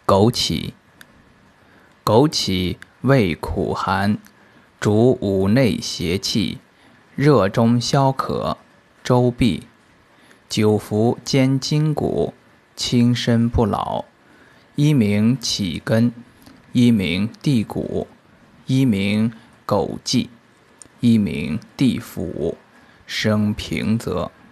枸杞，枸杞味苦寒，主五内邪气，热中消渴，周痹。久服兼筋骨，轻身不老。一名杞根，一名地骨，一名枸杞，一名地府，生平泽。